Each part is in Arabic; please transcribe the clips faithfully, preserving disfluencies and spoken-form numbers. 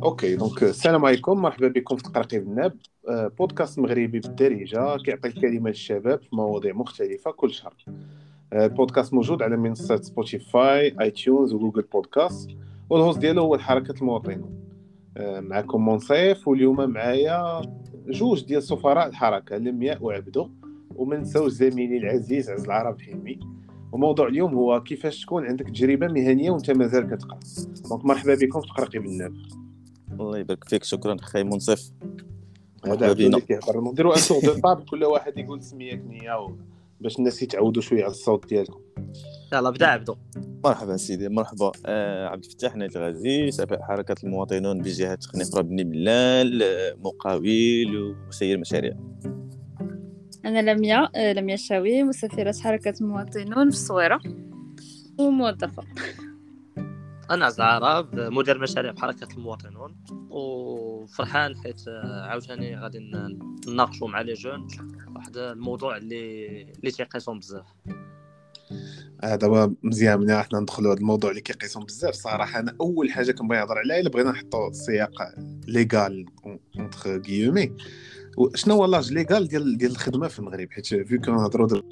اوكي دونك السلام عليكم، مرحبا بكم في تقرقيب الناب. آه، بودكاست مغربي بالدارجه كيعطي الكلمه للشباب في مواضيع مختلفه كل شهر. آه، البودكاست موجود على منصات سبوتيفاي، اي تيونز وجوجل بودكاست، والهوست ديالو هو الحركه المواطنين. آه، معكم منصف، واليوم معايا جوج ديال سفراء الحركه، لمياء وعبدو، وما نساوش زميلي العزيز عز العرب حلمي. وموضوع اليوم هو كيفاش تكون عندك تجربه مهنيه وانت مازال كتقرا. دونك مرحبا بكم في تقرقيب الناب. الله يبارك فيك، شكرا اخي منصف. هذا مرحبا عبدو بينا. اللي كيهضر. نديروا ان تور دو طابل، كل واحد يقول سميه كنيه باش الناس يتعودوا شويه على الصوت ديالكم. يلا بدا عبدو. مرحبا سيدي، مرحبا. آه عبد الفتاح نايت الغازي، سفاء حركة المواطنون بجهة خنيفرة بن بلال، آه، مقاول ومسير مشاريع. أنا لمياء آه، لمياء الشاوي، مسافرة حركة المواطنون في الصويرة وموظفة. انا عز العرب، مدير مشاريع بحركه المواطنون، وفرحان حيت عاوتاني غادي نناقشوا مع لي جون واحد الموضوع اللي اللي تيقيسهم بزاف. آه دابا مزيان ملي حنا ندخلوا هذا الموضوع اللي كيقيسهم بزاف. صراحه انا اول حاجه كنبغي نهضر عليها الا بغينا نحطوا السياق ليغال اونتر غيومي، شنو هو لاج ليغال ديال ديال الخدمه في المغرب، حيت في كنهضروا دابا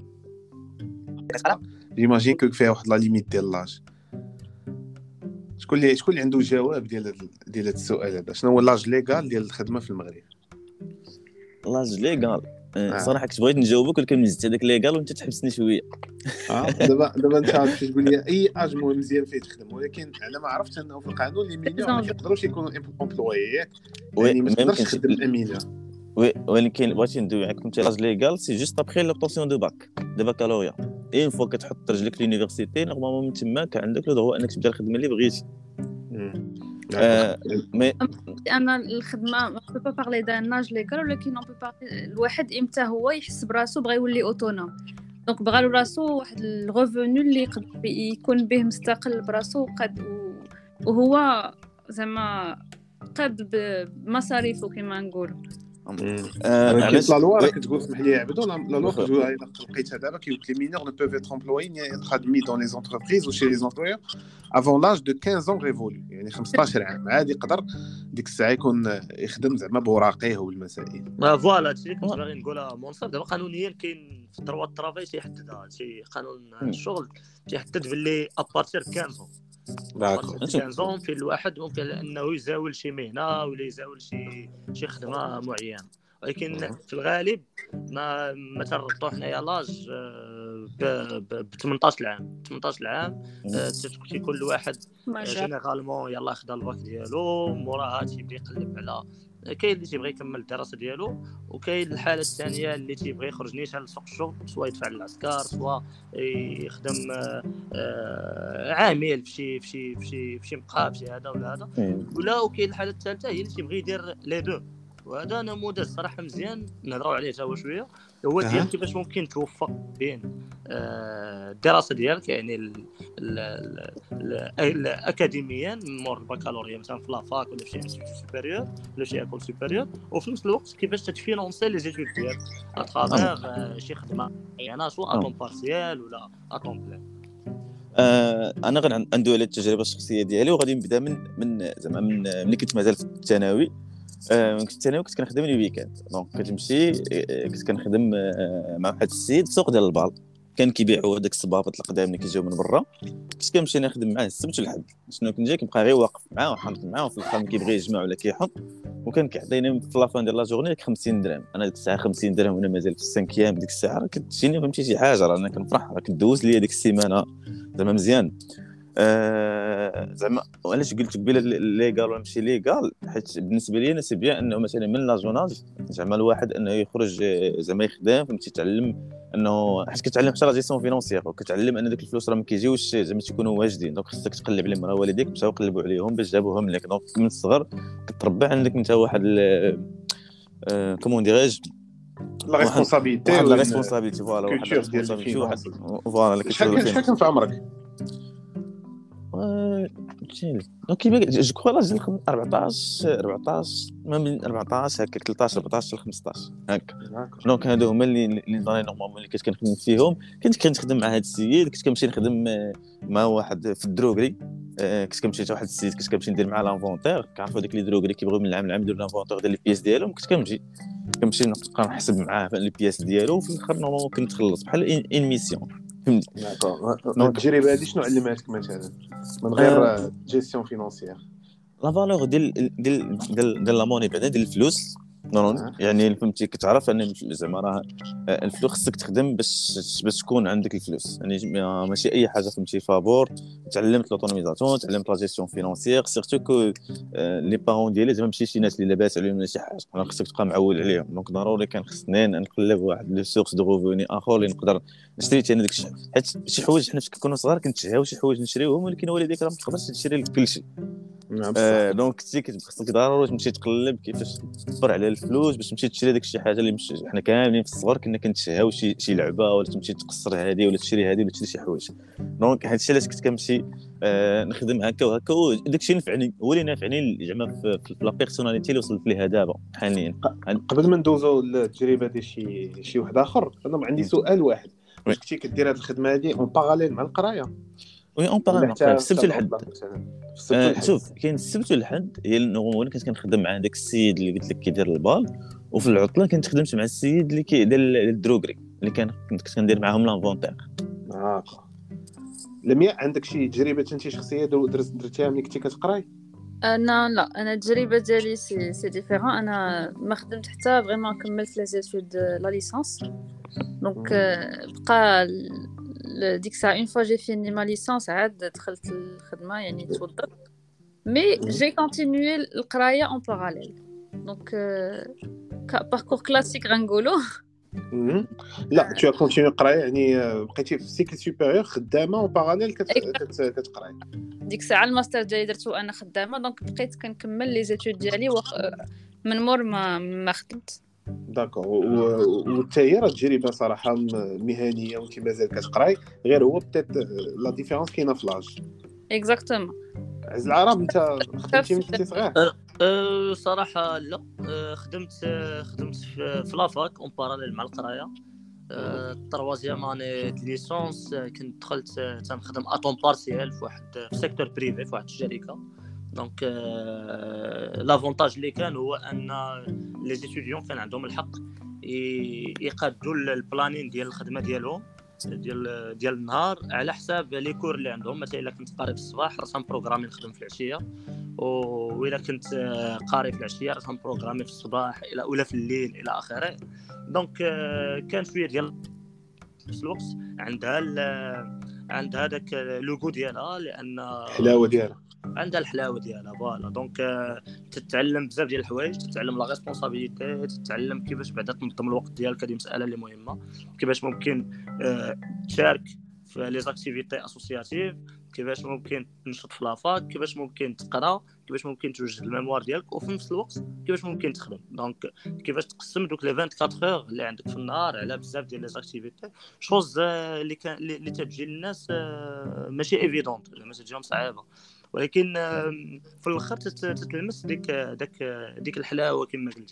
جيماجين كو فيها واحد لا ليميت ديال لاج. شكون اللي شكون اللي عنده جواب ديال ديال هذا السؤال هذا؟ شنو هو لاج ليغال ديال الخدمه في المغرب؟ لاج ليغال. آه. صراحه كنت بغيت نجاوبك ولكن مزت هذاك ليغال وانت تحبسني شويه. اه دابا دابا انت عارف تقول لي اي اج مهم مزيان فيه تخدم، ولكن على ما عرفت انه في القانون لي مينيور ما كيقدروش يكونوا امبلويي، يعني ما تقدرش تخدم الامينه. وي ولكن بغيتي ندوي معاك. كنت لاج ليغال سي جوست ابخي لوبطاسيون دو باك دو باكالوريا، اين فوا كتحط رجلك في لونيفرسيتي نورمالمون من تماك عندك لو دروا انك تبدا الخدمه اللي بغيتي. آه. مي أنا الخدمة ما بو با بارلي دان لاج ليغال، ولكن اون بو بارلي الواحد امتى هو يحس براسو بغا يولي اوتونوم، دونك بغا له راسو واحد الغوفونو اللي يقدر يكون به مستقل براسو قد وهو زعما قاد بمصاريفه كما نقولوا. علاش لا لوا راك تقول اسمح لي عبدو، لا لوا كتقول الا لقيتها دابا كيقول لي مينور ne peuvent être employés ni être admis dans les entreprises ou chez les employeurs avant l'âge de quinze ans révolu، يعني خمسطاش عام عادي يقدر ديك الساعه يكون يخدم زعما بوراقيه والمسائل. ما فوالا هادشي كنت باغي نقولها منصف. دابا قانونيا كاين في الدروا الطرافاي تيحددها هادشي، قانون الشغل تيحدد باللي ابارتير خمسة داكور كنزون في الواحد ممكن انه يزاول شي مهنه ولا يزاول شي شي خدمه معينه، ولكن في الغالب ما ما تربطوا حنايا لاج ب ثمنطاش عام. ثمنطاش عام تيكون كل واحد جينيرالمون يلاه خدا الباك ديالو، موراها تيبدا يقلب على كاين اللي تيبغي يكمل الدراسه ديالو، وكاين الحاله الثانيه اللي تيبغي يخرج نيشان لسوق الشغل، سواء يدفع للعسكر سواء يخدم عامل في شي في شي في شي في شي مقهى في شي هذا ولا هذا، ولا وكاين الحاله الثالثه هي اللي تيبغي يدير لي دو. وهذا نموذج صراحه مزيان نهضروا عليه حتى هو شويه، هو ديال كيفاش ممكن توفق بين الدراسه ديالك يعني الاكاديميا مور البكالوريا مثلا في لافاك ولا في شي انستيتوت سوبيريور ولا شي ايكول سوبيريور، وفي نفس الوقت كيفاش تفينونسي لي زيتود ديالك اترافير شي خدمه يعني سواء اطون بارسيال ولا اطون بلان. آه انا غندوي على التجربه الشخصيه ديالي، وغادي نبدا من من زعما من ملي كنت مازال في الثانوي. آه كنت الثانوي كنت كنخدم لي ويكاند، دونك كتمشي كنت كنخدم مع واحد السيد في سوق ديال البال، كان كيبيعوا هذاك الصبابط القدام اللي كيجيو من برا. كنت كنمشي نخدم معاه السبت والحد، شنو كنت جاي كنبقى غير واقف معاه وحامض معاه، وفي الاخر كيبغي يجمع ولا كيحط، وكان كيعطيني في لافان ديال لا جورني خمسين درهم. انا ديك الساعه خمسين درهم وانا مازال في السانكيام ديك الساعه كتجيني فهمتي شي حاجه، راه انا كنفرح، راه كدوز ليا ديك السيمانه زعما مزيان. آه زعما علاش قلت قبيله ليغال ولا ماشي ليغال، حيت بالنسبه لي انا سي بيان انه مثلا من لاجوناج زعما الواحد انه يخرج زعما يخدم فهمتي، يتعلم انه حيت كتعلم حتى لا جيستيون فينونسيير، وكتعلم ان داك الفلوس راه ما كيجيوش زعما تيكونوا واجدين، دونك خصك تقلب عليهم، راه والديك مشاو قلبوا عليهم باش جابوهم لك، دونك من الصغر كتربى عندك انت واحد آه كومون ديريج لا ريسبونسابيلتي واحد لا ريسبونسابيلتي فوالا واحد لا ريسبونسابيلتي واحد فوالا كيفاش شحال كان في عمرك؟ دونك كيما جو كخوا لاج أربعطاش أربعطاش ما من أربعطاش هكا ثلاثطاش أربعطاش حتى خمسطاش هكا. دونك هادو هما اللي اللي داني نورمالمون اللي كنت كنخدم فيهم. كنت كنخدم مع هاد السيد، كنت كنمشي نخدم مع واحد في الدروغري كنت كنمشي حتى واحد السيد كنت كنمشي ندير معاه لانفونتير كنعرفوا ديك لي دروغ اللي كيبغيو من العام لعام يديروا لانفونتير ديال لي بياس ديالهم كنت كنمشي كنمشي نبقى نحسب معاه لي بياس ديالو وفي الاخر نورمالمون كنت خلص بحال ان ميسيون فهمتي. التجربه هذه شنو علماتك مثلا من غير جيستيون فينانسيير؟ لا فالور ديال ديال ديال ديال لا موني بعدا ديال الفلوس نورمال يعني فهمتي كتعرف ان زعما راه الفلوس خصك تخدم باش باش تكون عندك الفلوس يعني ماشي اي حاجه فهمتي فابور. تعلمت لوطونوميزاسيون تعلمت لا جيستيون فينانسيير سيرتو كو لي بارون ديالي زعما ماشي شي ناس اللي لاباس عليهم ولا شي حاجه انا خصك تبقى معول عليهم دونك ضروري كان خصني نقلب واحد لو سورس دو ريفوني اخر اللي نقدر نشري حتى انا داك الشيء حيت شي حوايج حنا كنا صغار كنتشهاو شي حوايج نشريوهم ولكن والديك راه ما تقدرش تشري لك كلشي. آه دونك كنتي كتخصك ضروري تمشي تقلب كيفاش تصبر على الفلوس باش تمشي تشري داك الشيء حاجه اللي مش حنا كاملين في الصغر كنا كنتشهاو شي شي لعبه ولا تمشي تقصر هذه ولا تشري هذه ولا تشري شي حوايج. دونك هذا الشيء علاش كنت كنمشي آه نخدم هكا وهكا وداك الشيء نفعني هو اللي نافعني زعما في, في لا بيرسوناليتي اللي وصلت ليها دابا حاليا. قبل ما ندوزو للتجربه ديال شي شي واحد اخر انا عندي سؤال واحد واش كنتي كدير هذه الخدمه هذه اون باراليل مع القرايه؟ وي اون باراليل السبت والحد آه شوف كاين السبت والحد هي النورمال كنت كنخدم مع داك السيد اللي قلت لك كيدير البال وفي العطله كنت خدمت مع السيد اللي كيدير الدروغري اللي كان كنت كندير معاهم لانفونتير. اه لمياء عندك شي تجربه انت شخصيه درتيها ملي كنتي كتقراي؟ انا لا انا التجربه ديالي سي سي ديفيرون انا ما خدمت حتى فريمون كملت لي زيتود لا ليسانس دونك بقى ديك الساعه اون فوا جي فيني ما ليسانس عاد دخلت الخدمه يعني توظفت مي جي كونتينيي القرايه اون باراليل دونك باركور كلاسيك غنقولوا. لا تو كونتينيي القرايه يعني بقيتي في سيكل سوبيريور خدامه اون باراليل كتقراي. ديك الساعه الماستر ديالي درتو انا خدامه دونك بقيت كنكمل لي زيتود ديالي وخ... من مور ما ما خدمت. داكور والتايره تجربه صراحه مهنيه وانت مازال كتقراي غير هو بتات لا ديفيرونس كاينه في لاج. اكزاكتومون. عز العرب انت خدمتي من كنتي صغير؟ أه صراحه لا أه خدمت خدمت في لافاك اون باراليل مع القرايه. التروازيام اني ليسونس كنت دخلت تنخدم اطون بارسيال في واحد في سيكتور بريفي في واحد الشركه دونك لافونتاج اللي كان هو ان لي ستوديون كان عندهم الحق يقادوا البلانين ديال الخدمه ديالهم ديال ديال النهار على حساب لي كور اللي عندهم. مثلا الا كنت قاري في الصباح راه بروغرامي نخدم في العشيه وإلا كنت قاري في العشيه راه بروغرامي في الصباح الى ولا في الليل الى اخره. دونك كان شويه ديال في الوقت عندها عند هذاك لوغو ديالها لان الحلاوه ديالها عندها الحلاوه ديالها فوالا. دونك تتعلم بزاف ديال الحوايج تتعلم لا ريسبونسابيلتي تتعلم كيفاش بعدا تنظم الوقت ديالك. هذه مساله اللي مهمه كيفاش ممكن تشارك في لي زاكتيفيتي اسوسياتيف كيفاش ممكن تنشط في لافاك كيفاش ممكن تقرا كيفاش ممكن توجد الميموار ديالك وفي نفس الوقت كيفاش ممكن تخدم. دونك كيفاش تقسم دوك لي أربعة وعشرين اور اللي عندك في النهار على بزاف ديال لي زاكتيفيتي شوز اللي كان اللي تجي للناس ماشي ايفيدونت زعما تجيهم صعيبه ولكن في الاخر تتلمس ديك داك ديك الحلاوه كما قلتي.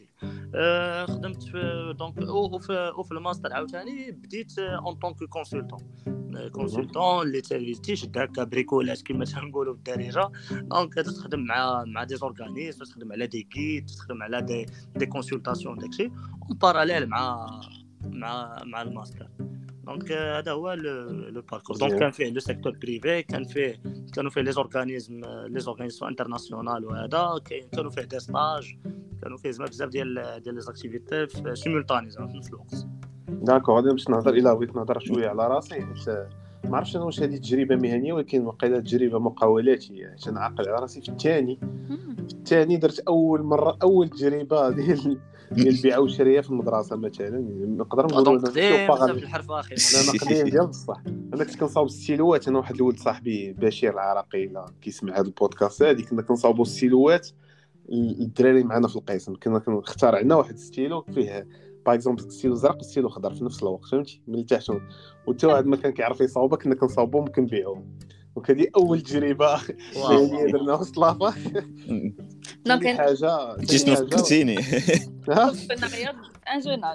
خدمت في دونك او في الماستر عاوتاني بديت اون طونك كونسلطون كونسلطون اللي تيشد هكا بريكولات كما تنقولوا بالدارجه. دونك تخدم مع مع دي زورغانيزم تخدم على دي كيت تخدم على دي دي كونسلطاسيون داكشي اون باراليل مع مع مع الماستر. دونك هذا هو لو باركور. دونك كان فيه لو سيكتور بريفي كان فيه كانوا فيه لي زورغانيزم لي زورغانيزاسيون انترناسيونال وهذا كانوا فيه دي ستاج كانوا فيه بزاف ديال ديال لي زاكتيفيتي سيمولطاني زعما في نفس الوقت. داكور غادي باش نهضر الى بغيت نهضر شويه على راسي حيت ما عرفتش انا واش هذه تجربه مهنيه ولكن واقيلا تجربه مقاولاتيه حيت نعقل على راسي في الثاني في الثاني درت اول مره اول تجربه ديال ديال البيع والشراء في المدرسه مثلا نقدر نقولوا بزاف الحرف اخي انا نقديم ديال بصح انا كنت كنصاوب السيلوات انا واحد الولد صاحبي بشير العراقي الا كيسمع هذا البودكاست هذه كنا كنصاوبوا السيلوات الدراري معنا في القسم كنا كنختار عندنا واحد الستيلو فيه باغ اكزومبل ستيلو زرق وستيلو خضر في نفس الوقت فهمتي من تحت وتا واحد ما كان كيعرف يصاوبها كنا كنصاوبهم كنبيعوهم. وكذه اول تجربه يعني درنا في لافا دونك حاجه جيت فكرتيني كنا غير ان جوناج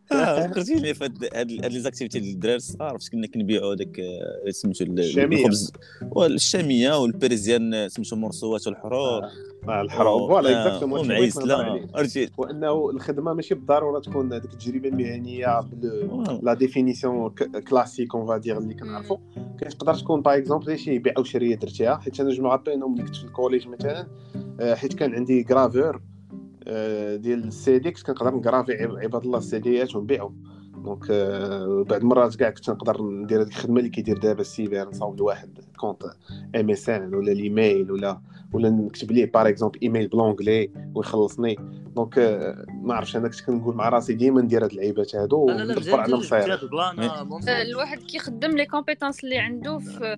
اه فكرتيني في هاد هاد هاد لي زاكتيفيتي ديال الدراري الصغار فاش كنا كنبيعوا داك آه، سميتو ال- الشامية. الخبز والشاميه والبريزيان آه، سميتو مرصوات والحرور آه. آه الحرام فوالا آه، اكزاكتومون هادشي بغيت نهضر ومعيسله عليه، عرفتي وانه الخدمه ماشي بالضروره تكون هذيك التجربه المهنيه بل آه. لا ديفينيسيون كلاسيك اون فادير اللي كنعرفوا. كتقدر تكون باغ اكزومبل شي بيع او شريه درتيها، حيت انا جو مابيل انهم ملي كنت في الكوليج مثلا آه، حيت كان عندي غرافور آه، ديال السي دي، كنت كنقدر نغرافي عباد الله السيديات ونبيعهم. دونك آه، بعد مرات كاع كنت نقدر ندير هذيك الخدمه اللي كيدير دابا السيبر، نصاوب لواحد كونط ام اس ان ولا الايميل ولا ولا نكتب ليه باغ اكزومبل ايميل بلونغلي ويخلصني. دونك آه، ما عرفتش انا كنت كنقول مع راسي ديما ندير هاد اللعيبات هادو لا لا لا وندبر مزيان على جبتي مصيري. هاد البلان منصور. الواحد كيخدم لي كومبيتونس اللي عنده في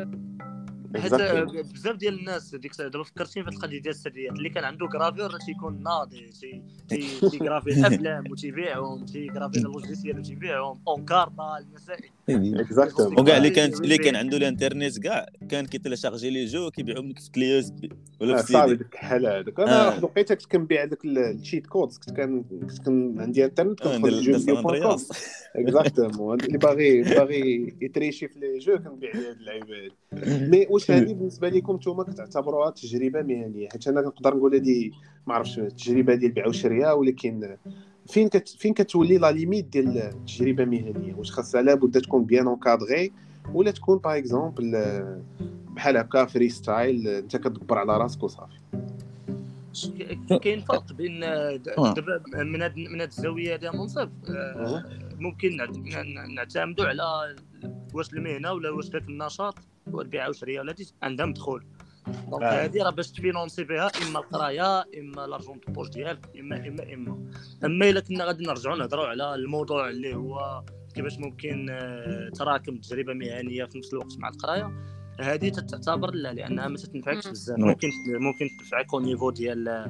حيت Exactement. بزاف ديال الناس ديك الساعه دابا فكرتيني في القضيه ديال السريات اللي كان عنده غرافير تيكون ناضي تي تي تيغرافي الافلام وتيبيعهم، تيغرافي اللوجيسيال وتيبيعهم اونكارطا المسائل Exactement. وكاع اللي كان اللي كان عنده الانترنت كاع كان كيتيلاشارجي لي جو كيبيعهم لك في كلي يو اس بي ولا في صافي سيدي. ديك الحال هذاك. انا آه. واحد الوقيته كنت كنبيع هذاك الشيت كودز، كنت كان كنت كان عندي انترنت آه، كندخل ندير لجو ندير فيديو سان بوان كوم. اندرياس اكزاكتومون اللي باغي باغي يتريشي في لي جو كنبيع ليه هاد اللعيبه هادي. مي واش هذه بالنسبه لكم نتوما كتعتبروها تجربه مهنيه؟ حيت انا كنقدر نقول هذه ما عرفتش التجربه ديال البيع والشراء، ولكن فين كت فين كتولي لا ليميت ديال التجربه المهنيه؟ واش خاصها لابد تكون بيان اونكادغي ولا تكون باغ اكزومبل بحال هكا فري ستايل انت كتدبر على راسك وصافي؟ كاين فرق بين دابا من هاد من هاد الزاويه هذه منصف. ممكن نعتمدوا على واش المهنه ولا واش داك النشاط والبيع والشراء ولا عندها مدخول. دونك هذه راه باش تفينونسي بها اما القرايه اما لارجون دو بوش ديالك اما اما اما اما الا كنا غادي نرجعوا نهضروا على الموضوع اللي هو كيفاش ممكن تراكم تجربه مهنيه في نفس الوقت مع القرايه، هذه تعتبر لا لانها ما تنفعكش بزاف. ممكن ممكن تنفعك او نيفو ديال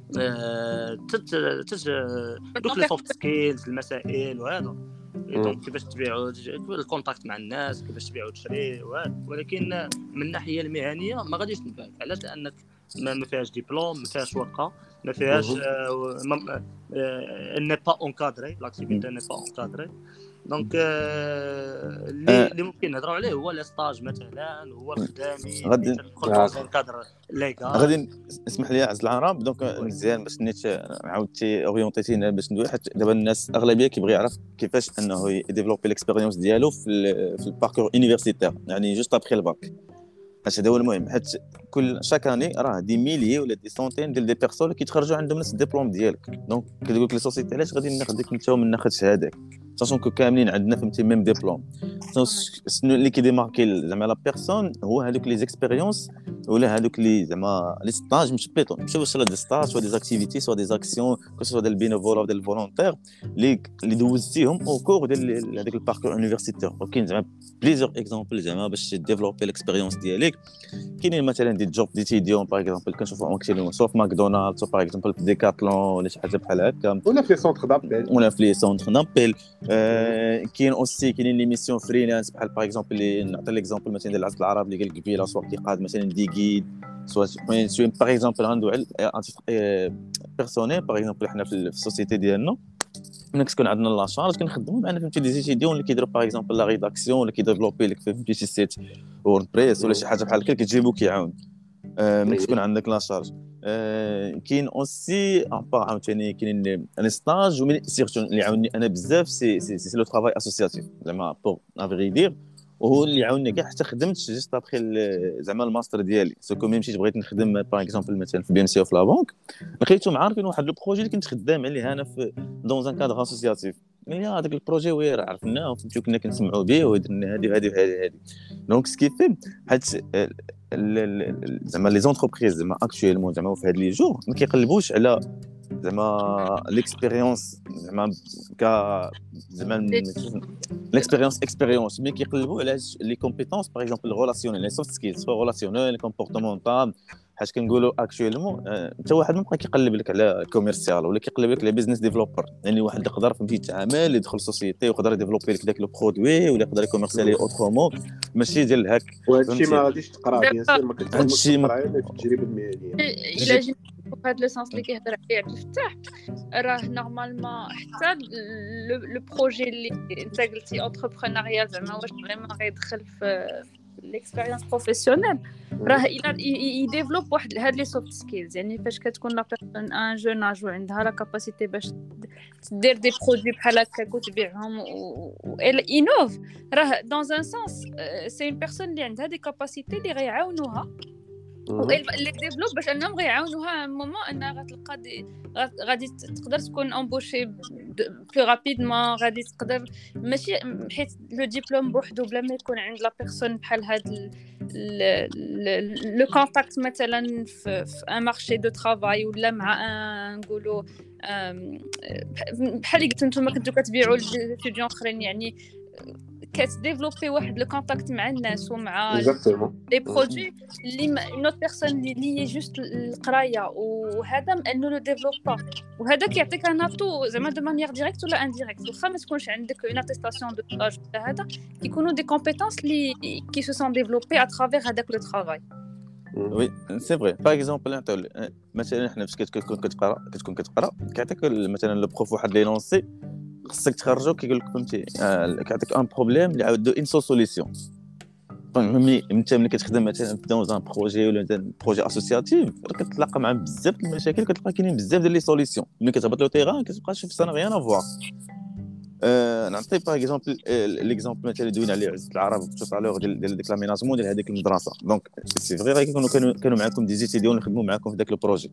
تت تت دوك لي سوفت سكيلز المسائل وهذا. دونك كيفاش تبيعوا الكونتاكت مع الناس، كيفاش تبيعوا وتشري وهذا. ولكن من الناحيه المهنيه ما غاديش تنفعك. علاش؟ لانك ما فيهاش دبلوم، ما فيهاش ورقه، ما فيهاش ان با اونكادري لاكتيفيتي ان با اونكادري. دونك اللي اللي ممكن نهضروا عليه هو لي ستاج مثلا، هو الخدامي غادي تدخل في كادر ليغال. غادي اسمح لي عز العرب. دونك مزيان باش نيت عاودتي اورينتيتينا باش ندوي، حيت دابا الناس اغلبيه كيبغي يعرف كيفاش انه يديفلوبي ليكسبيريونس ديالو في في الباركور يونيفرسيتير، يعني جوست ابخي الباك. هذا هو المهم، حيت كل شاك اني راه دي ميليي ولا دي سونتين ديال دي بيرسون اللي كيتخرجوا عندهم نفس الدبلوم ديالك. دونك كتقول لك لي سوسيتي علاش غادي ناخذ ديك انت ومن ناخذ شهادك، ساشون كو كاملين عندنا فهمتي ميم ديبلوم. شنو اللي كيديماركي زعما لا بيرسون هو هذوك لي زيكسبيريونس ولا هذوك لي زعما لي ستاج مش بيتون مش واش لا دي ستاج سوا دي زاكتيفيتي سوا دي زاكسيون كو سوا ديال بينوفول او ديال فولونتير اللي اللي دوزتيهم او كور ديال هذاك الباركور يونيفرسيتير. وكاين زعما بليزيور اكزامبل زعما باش ديفلوبي ليكسبيريونس ديالك. كاينين مثلا دي جوب ديتيديون باغ اكزومبل كنشوفوا ماكسيموم سوا في ماكدونالدز سوا باغ اكزومبل في ديكاتلون ولا شي حاجه بحال هكا، ولا في سونتر دابيل ولا في لي سونتر دابيل. كاين اوسي كاينين لي ميسيون فريلانس بحال باغ اكزومبل اللي نعطي ليكزامبل مثلا ديال العزل العرب اللي قال قبيله سوا كيقاد مثلا دي غيد سوا سوا باغ اكزومبل غندوي على بيرسونيل باغ اكزومبل حنا في السوسيتي ديالنا ملي كتكون عندنا لا شارج كنخدموا معنا فهمتي دي زيتيديون اللي كيديروا باغ اكزومبل لا ريداكسيون ولا كيديفلوبي لك فهمتي شي سيت ووردبريس ولا شي حاجه بحال هكا كتجيبو كيعاون ملي تكون عندك لا شارج. كاين اوسي ان با عاوتاني كاينين لي ستاج ومن سيرتو اللي عاوني انا بزاف سي سي سي لو ترافاي اسوسياتيف زعما بور افري دير، وهو اللي عاوني كاع حتى خدمت جيست ابخي زعما الماستر ديالي. سو كو ميم مشيت بغيت نخدم باغ اكزومبل مثلا في بي ام سي او في لا بنك، لقيتهم عارفين واحد لو بروجي اللي كنت خدام عليه انا في دون ان كادر اسوسياتيف. مي هذاك البروجي وير عرفناه فهمتو كنا كنسمعوا به ودرنا هذه وهذه وهذه. دونك سكيفي حيت زعما لي زونتربريز زعما اكطويلمون زعما في هاد لي جور ما كيقلبوش على زعما ليكسبيريونس زعما كا زعما ليكسبيريونس اكسبيريونس مي كيقلبوا على لي كومبيتونس باغ اكزومبل ريلاسيونيل لي سوفت سكيلز سوا ريلاسيونيل كومبورتمونطال. حاج كنقولوا اكطويلمون حتى واحد ما بقى كيقلب لك على كوميرسيال ولا كيقلب لك على بيزنس ديفلوبر، يعني واحد اللي يقدر فهمتي يتعامل يدخل سوسيتي ويقدر يديفلوبي لك داك لو برودوي ولا يقدر يكوميرسيالي اوترومون ماشي ديال الهاك. وهذا الشيء ما غاديش تقرا بيان سور ما كتقراش في التجربه المهنيه. الا جيت في هذا لو سانس اللي كيهضر عليه عبد الفتاح راه نورمالمون حتى لو بروجي اللي انت قلتي انتربرونيال زعما واش فريمون غيدخل في ليكسبيريونس بروفيسيونيل راه الى يديفلوب واحد هاد لي سوفت سكيلز يعني فاش كتكون لا بيرسون ان جون اج وعندها لا كاباسيتي باش تدير دي برودوي بحال هكا وتبيعهم و انوف راه دون ان سانس سي اون بيرسون اللي عندها دي كاباسيتي اللي غيعاونوها اللي ديفلوب باش انهم غيعاونوها مومون انها غتلقى دي غادي تقدر تكون امبوشي بلو رابيدمون غادي تقدر ماشي حيت لو ديبلوم بوحدو بلا ما يكون عند لا بيرسون بحال هاد لو كونتاكت مثلا في ان مارشي دو ترافاي ولا مع ان نقولوا بحال اللي قلتو نتوما كنتو كتبيعوا للستوديون اخرين يعني كتديفلوبي واحد لو كونتاكت مع الناس ومع لي برودوي اللي نوت بيرسون اللي هي جوست القرايه وهذا انه لو ديفلوبا وهذا كيعطيك ان اتو زعما دو مانيير ديريكت ولا انديريكت واخا ما تكونش عندك اون اتيستاسيون دو باج هذا كيكونوا دي كومبيتونس اللي كي سو سون ديفلوبي ا ترافير هذاك لو ترافاي. وي سي فري باغ اكزومبل نعطيو مثلا حنا فاش كتكون كتقرا كتكون كتقرا كيعطيك مثلا لو بروف واحد لي لونسي خصك تخرجو كيقول لك فهمتي كيعطيك ان بروبليم اللي عاودو ان سو سوليسيون فهمني انت ملي كتخدم مثلا في دون ان بروجي ولا بروجي اسوسياتيف راه كتلاقى مع بزاف د المشاكل كتلقى كاينين بزاف ديال لي سوليسيون ملي كتهبط لو تيران كتبقى تشوف سا ريان افوار أه نعطي باغ اكزومبل ليكزومبل مثلا دوينا عليه عزة العرب تو طالور ديال ديال ديك لاميناجمون ديال هذيك المدرسه دونك سي فري غير كيكونوا كانوا كانوا معاكم دي زيتيديون يخدموا معاكم في داك البروجي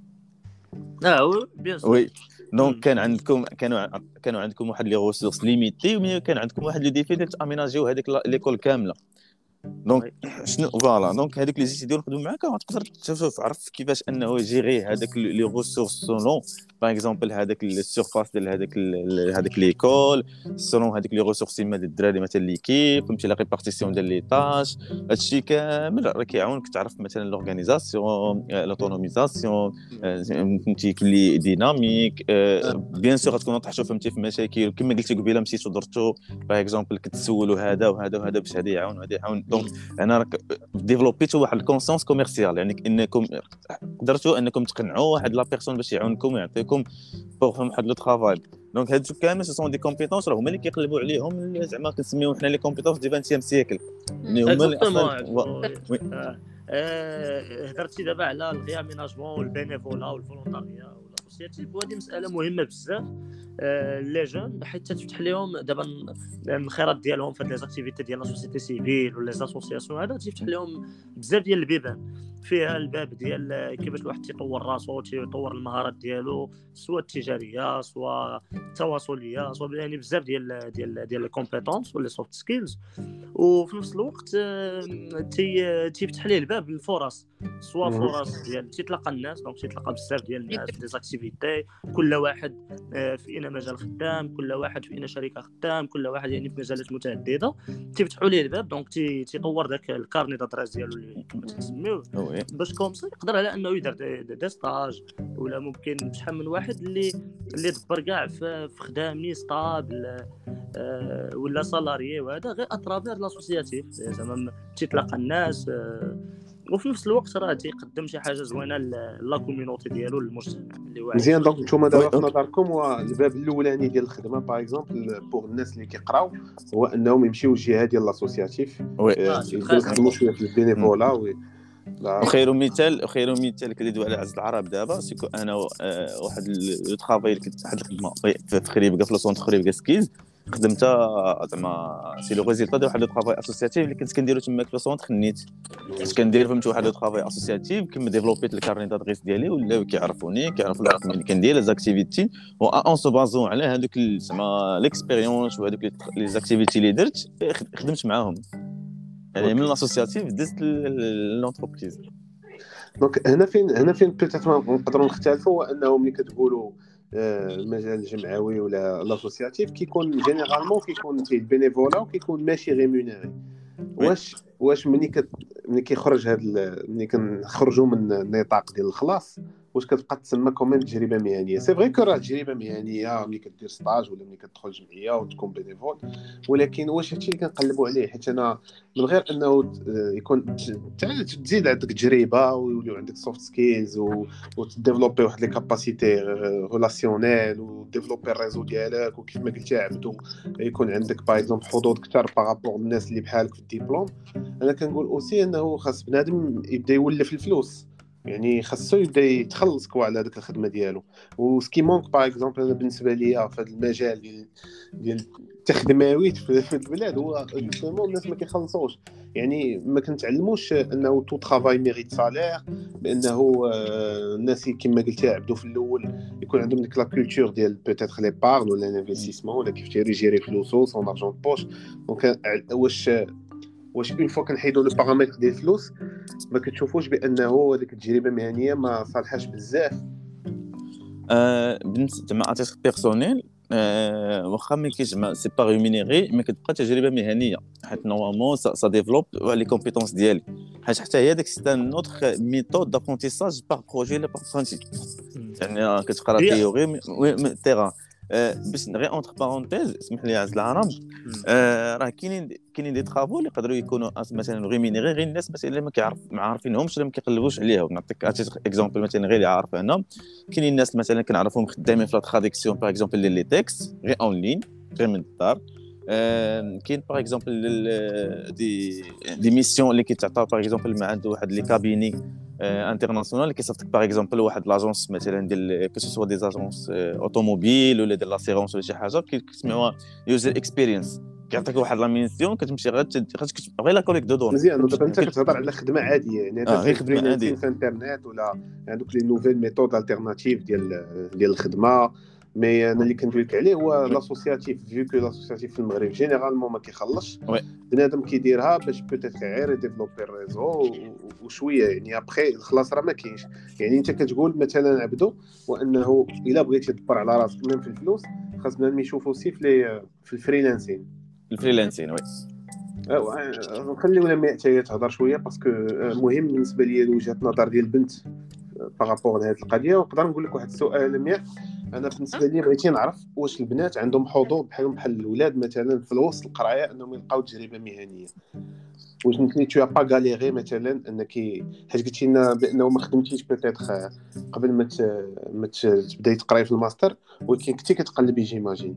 اه بيان سور وي دونك كان عندكم كانوا كانوا عندكم واحد لي ريسورس ليميتي ومي كان عندكم واحد لو ديفي ديال تاميناجيو هذيك ليكول كامله دونك شنو فوالا دونك هذوك لي زيتيديون يخدموا معاك تقدر تشوف عرف كيفاش انه يجيري هذاك لي ريسورس سولون باغ اكزومبل هذاك السيرفاس ديال هذاك هذاك ليكول سولون هذيك لي ريسورس ما ديال الدراري مثلا ليكيب فهمتي لا ريبارتيسيون ديال لي طاش هادشي كامل راه كيعاونك تعرف مثلا لورغانيزاسيون لوتونوميزاسيون فهمتي كلي ديناميك بيان سور غتكونوا طحتوا فهمتي في مشاكل كما قلتي قبيله مشيتو درتو باغ اكزومبل كتسولوا هذا وهذا وهذا باش هذا يعاون وهذا يعاون دونك انا راك ديفلوبيتو واحد الكونسونس كوميرسيال يعني انكم قدرتوا انكم تقنعوا واحد لا بيرسون باش يعاونكم ويعطيكم بوغ فهم واحد لو ترافاي دونك هادو كامل سو سون دي كومبيتونس راه هما اللي كيقلبوا عليهم زعما كنسميوهم حنا لي كومبيتونس دي عشرين سيكل يعني هما اللي اصلا هضرتي دابا على الغياميناجمون والبينيفولا والفولونتاريا والاسوسياتيف وهذه مساله مهمه بزاف لي جون حيت تفتح لهم دابا الخيرات ديالهم في هاد لي زاكتيفيتي ديال لا سوسيتي سيفيل ولا لي اسوسياسيون هذا تيفتح لهم بزاف ديال البيبان فيها الباب ديال كيفاش الواحد تيطور راسو تيطور المهارات ديالو سواء التجاريه سواء التواصليه سواء يعني بزاف ديال ديال ديال الكومبيتونس ولا سوفت سكيلز وفي نفس الوقت تي تيفتح ليه الباب للفرص سواء فرص ديال تيتلاقى الناس دونك تيتلاقى بزاف ديال الناس في زاكتيفيتي كل واحد في اين مجال خدام كل واحد في اين شركه خدام كل واحد يعني في مجالات متعدده تيفتحوا ليه الباب دونك تي تيطور داك الكارني دادريس ديالو اللي كما تسميوه باش كومسي يقدر على انه يدير دي ستاج ولا ممكن شحال من واحد اللي اللي دبر كاع في خدامني ستابل أه ولا سالاريي وهذا غير اترافير لاسوسياتيف زعما تيتلاقى الناس أه وفي نفس الوقت راه تيقدم شي حاجه زوينه لا كوميونيتي ديالو للمجتمع اللي واعي مزيان دونك نتوما دابا في نظركم هو الباب الاولاني ديال الخدمه باغ اكزومبل بوغ الناس اللي كيقراو هو انهم يمشيو للجهه ديال لاسوسياتيف يخدموا شويه في البينيفولا و خير مثال خير مثال كندوي على عز العرب دابا سيكو انا واحد لو طرافاي اللي كنت واحد الخدمه في خريبكا في لوسونط خريبكا سكيز خدمتها زعما سي لو ريزولطا ديال واحد لو طرافاي اسوسياتيف اللي كنت كنديرو تما في لوسونط خنيت كنت كندير فهمت واحد لو طرافاي اسوسياتيف كما ديفلوبيت الكارني دادريس ديالي ولاو كيعرفوني كيعرفوا الرقم اللي كندير لي زاكتيفيتي و اون سو بازون على هذوك زعما ليكسبيريونس وهذوك لي زاكتيفيتي اللي درت خدمت معاهم يعني من الاسوسياتيف دزت لونتربريز دونك هنا فين هنا فين بيتيتر نقدروا نختلفوا هو انه ملي كتقولوا المجال الجمعوي ولا لاسوسياتيف كيكون جينيرالمون كيكون فيه البينيفولا وكيكون ماشي ريمونيري واش واش ملي كت ملي كيخرج هذا ملي كنخرجوا من النطاق ديال الخلاص واش كتبقى تسمى كومين تجربه مهنيه. سي فري كو راه تجربه مهنيه ملي كدير ستاج ولا ملي كتدخل جمعيه وتكون بينيفول، ولكن واش هادشي اللي كنقلبوا عليه؟ حيت انا من غير انه يكون تزيد عندك تجربه ويوليو عندك سوفت سكيلز وتديفلوبي واحد لي كاباسيتي ريلاسيونيل وديفلوبي الريزو ديالك، وكيف ما قلتي عبدو يكون عندك باغ اكزومبل حظوظ اكثر بارابور الناس اللي بحالك في الدبلوم. انا كنقول اوسي انه خاص بنادم يبدا يولف الفلوس، يعني خاصو يبدا يتخلص كوا على ديك الخدمه ديالو. وسكي مونك باغ اكزومبل انا بالنسبه ليا في هذا المجال ديال ديال التخدماويت في البلاد هو جوستومون الناس ما كيخلصوش، يعني ما كنتعلموش انه تو طرافاي ميريت سالير، بانه الناس كما قلتي عبدو في الاول يكون عندهم ديك لا كولتور ديال بوتيتر لي بارن ولا انفستيسمون ولا كيف يجيري فلوسو سون ارجون بوش. دونك واش واش اون فوا كنحيدوا لو بارامتر ديال الفلوس ما كتشوفوش بانه هذيك التجربه المهنيه ما صالحاش بزاف؟ آه بالنسبه مع اتيتر بيرسونيل آه واخا ما كيجمع سي با ريمينيري مي كتبقى تجربه مهنيه، حيت نورمالمون سا ديفلوب لي كومبيتونس ديالي، حيت حتى هي داك سي ان اوتر ميثود دابرونتيساج بار بروجي لا بار برانتيك. يعني كتقرا تيوري وي تيران. باش غير اونتر بارونتيز اسمح لي عز العرب، راه كاينين كاينين دي طرافو اللي يقدروا يكونوا مثلا ريمينيري غير الناس مثلا اللي ما كيعرف ما عارفينهمش ولا ما كيقلبوش عليهم. نعطيك اكزومبل مثلا غير اللي عارف انا، كاينين الناس مثلا كنعرفهم خدامين في لا تراديكسيون باغ اكزومبل لي تيكست غير اون لين غير من الدار. كاين باغ اكزومبل دي دي ميسيون اللي كيتعطاو باغ اكزومبل مع عنده واحد لي كابيني انترناسيونال اللي كيصيفطك باغ اكزومبل واحد لاجونس مثلا ديال كو سو دي اجونس اوتوموبيل ولا ديال لاسيرونس ولا شي حاجه كيسمعوها يوزر اكسبيرينس، كيعطيك واحد لا ميسيون كتمشي غير تكتب غير لا كوليك دو دون. مزيان دابا انت كتهضر على خدمه عاديه، يعني هذا غير خدمه عاديه في الانترنت ولا عندك لي نوفيل ميثود التيرناتيف ديال ديال الخدمه. مي انا اللي كندوي لك عليه هو لاسوسياتيف، فيو كو لاسوسياتيف في المغرب جينيرالمون ما كيخلصش بنادم كيديرها باش بوتيت غير ديفلوبي الريزو وشويه، يعني ابخي الخلاص راه ما كاينش. يعني انت كتقول مثلا عبدو وانه الا بغيتي تدبر على راسك من في الفلوس خاص بنادم يشوفوا سي في في الفريلانسين الفريلانسين وي نخليو لما حتى تهضر شويه باسكو مهم بالنسبه لي وجهه النظر ديال البنت بارابور لهاد القضيه. ونقدر نقول لك واحد السؤال لمياء، انا بالنسبه لي بغيتي نعرف واش البنات عندهم حظوظ بحالهم بحال الاولاد مثلا في الوسط القرايه انهم يلقاو تجربه مهنيه؟ واش نتي تو با غاليري مثلا انك حيت قلتي لنا بانه ما خدمتيش بيتيتر قبل ما ما تبداي تقراي في الماستر، ولكن كنتي كتقلبي جيماجين؟